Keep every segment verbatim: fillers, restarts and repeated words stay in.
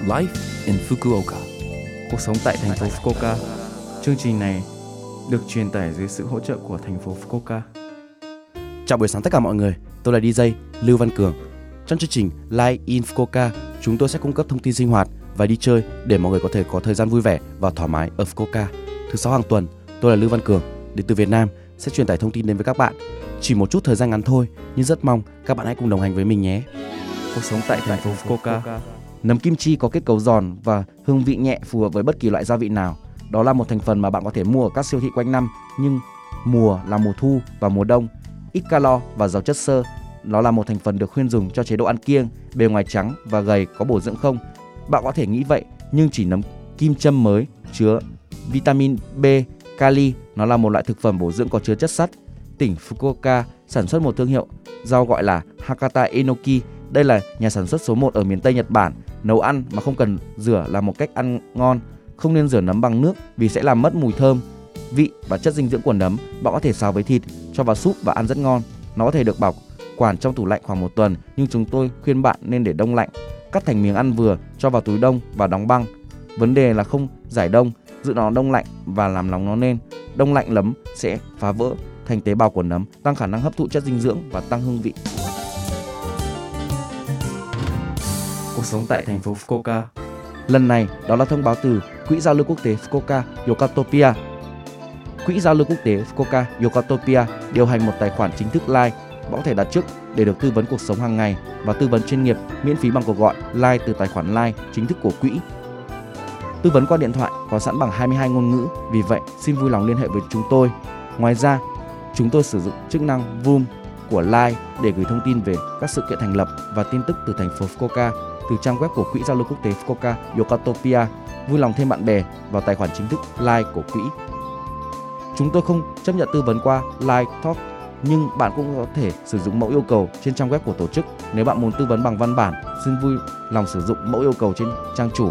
Life in Fukuoka. Cuộc sống tại thành phố Fukuoka. Chương trình này được truyền tải dưới sự hỗ trợ của thành phố Fukuoka. Chào buổi sáng tất cả mọi người, tôi là đi jây Lưu Văn Cường. Trong chương trình Life in Fukuoka, chúng tôi sẽ cung cấp thông tin sinh hoạt và đi chơi để mọi người có thể có thời gian vui vẻ và thoải mái ở Fukuoka. Thứ sáu hàng tuần, tôi là Lưu Văn Cường, đến từ Việt Nam, sẽ truyền tải thông tin đến với các bạn. Chỉ một chút thời gian ngắn thôi, nhưng rất mong các bạn hãy cùng đồng hành với mình nhé. Cuộc sống tại thành phố Fukuoka. Nấm kim chi có kết cấu giòn và hương vị nhẹ, phù hợp với bất kỳ loại gia vị nào. Đó là một thành phần mà bạn có thể mua ở các siêu thị quanh năm, nhưng mùa là mùa thu và mùa đông. Ít calo và giàu chất xơ. Nó là một thành phần được khuyên dùng cho chế độ ăn kiêng, bề ngoài trắng và gầy, có bổ dưỡng không? Bạn có thể nghĩ vậy, nhưng chỉ nấm kim châm mới chứa vitamin B, kali. Nó là một loại thực phẩm bổ dưỡng có chứa chất sắt. Tỉnh Fukuoka sản xuất một thương hiệu rau gọi là Hakata Enoki. Đây là nhà sản xuất số một ở miền Tây Nhật Bản. Nấu ăn mà không cần rửa là một cách ăn ngon. Không nên rửa nấm bằng nước vì sẽ làm mất mùi thơm, vị và chất dinh dưỡng của nấm. Bạn có thể xào với thịt, cho vào súp và ăn rất ngon. Nó có thể được bảo quản trong tủ lạnh khoảng một tuần, nhưng chúng tôi khuyên bạn nên để đông lạnh. Cắt thành miếng ăn vừa, cho vào túi đông và đóng băng. Vấn đề là không giải đông, giữ nó đông lạnh và làm nóng nó lên. Đông lạnh nấm sẽ phá vỡ thành tế bào của nấm, tăng khả năng hấp thụ chất dinh dưỡng và tăng hương vị. Cuộc sống tại thành phố Fukuoka. Lần này, đó là thông báo từ Quỹ giao lưu quốc tế Fukuoka Yokatopia. Quỹ giao lưu quốc tế Fukuoka Yokatopia điều hành một tài khoản chính thức Line. Bạn có thể đặt trước để được tư vấn cuộc sống hàng ngày và tư vấn chuyên nghiệp miễn phí bằng cuộc gọi Line từ tài khoản Line chính thức của quỹ. Tư vấn qua điện thoại có sẵn bằng hai mươi hai ngôn ngữ, vì vậy xin vui lòng liên hệ với chúng tôi. Ngoài ra, chúng tôi sử dụng chức năng Voom của Line để gửi thông tin về các sự kiện thành lập và tin tức từ thành phố Fukuoka từ trang web của Quỹ giao lưu quốc tế Fukuoka Yokatopia. Vui lòng thêm bạn bè vào tài khoản chính thức Line của quỹ. Chúng tôi không chấp nhận tư vấn qua Line Talk, nhưng bạn cũng có thể sử dụng mẫu yêu cầu trên trang web của tổ chức. Nếu bạn muốn tư vấn bằng văn bản, xin vui lòng sử dụng mẫu yêu cầu trên trang chủ.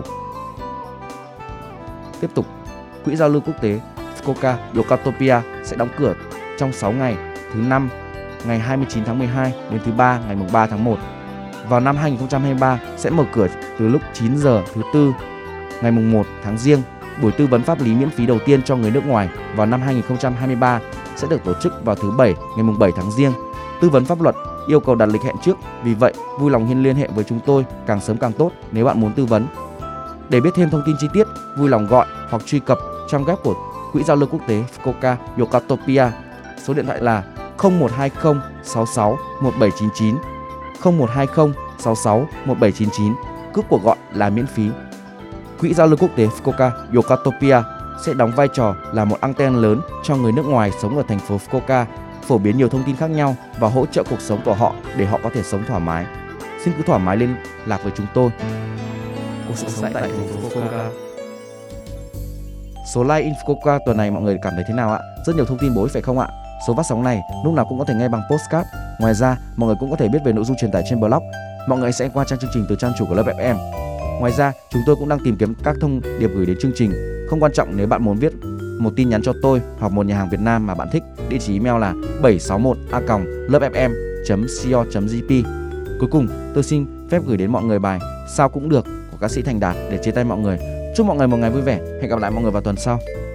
Tiếp tục, Quỹ giao lưu quốc tế Fukuoka Yokatopia sẽ đóng cửa trong sáu ngày, thứ năm ngày hai mươi chín tháng mười hai đến thứ ba ngày ba tháng một. Vào năm hai nghìn không trăm hai mươi ba sẽ mở cửa từ lúc chín giờ thứ tư ngày một tháng Giêng. Buổi tư vấn pháp lý miễn phí đầu tiên cho người nước ngoài vào năm hai nghìn không trăm hai mươi ba sẽ được tổ chức vào thứ bảy ngày bảy tháng Giêng. Tư vấn pháp luật yêu cầu đặt lịch hẹn trước, vì vậy vui lòng liên hệ với chúng tôi càng sớm càng tốt nếu bạn muốn tư vấn. Để biết thêm thông tin chi tiết, vui lòng gọi hoặc truy cập trang web của Quỹ giao lưu quốc tế Fukuoka Yokatopia. Số điện thoại là không một hai không sáu sáu một bảy chín chín, không một hai không sáu sáu một bảy chín chín. Cước cuộc gọi là miễn phí. Quỹ giao lưu quốc tế Fukuoka Yokatopia sẽ đóng vai trò là một anten lớn cho người nước ngoài sống ở thành phố Fukuoka, phổ biến nhiều thông tin khác nhau và hỗ trợ cuộc sống của họ để họ có thể sống thoải mái. Xin cứ thoải mái liên lạc với chúng tôi. Cuộc sống tại thành phố Fukuoka. Số Live in Fukuoka tuần này mọi người cảm thấy thế nào ạ? Rất nhiều thông tin bổ ích phải không ạ? Số phát sóng này lúc nào cũng có thể nghe bằng podcast. Ngoài ra, mọi người cũng có thể biết về nội dung truyền tải trên blog. Mọi người sẽ qua trang chương trình từ trang chủ của lớp ép em. Ngoài ra, chúng tôi cũng đang tìm kiếm các thông điệp gửi đến chương trình. Không quan trọng nếu bạn muốn viết một tin nhắn cho tôi hoặc một nhà hàng Việt Nam mà bạn thích. Địa chỉ email là bảy sáu một a còng lớp ép em chấm co chấm jp. Cuối cùng, tôi xin phép gửi đến mọi người bài Sao cũng được của ca sĩ Thành Đạt để chia tay mọi người. Chúc mọi người một ngày vui vẻ. Hẹn gặp lại mọi người vào tuần sau.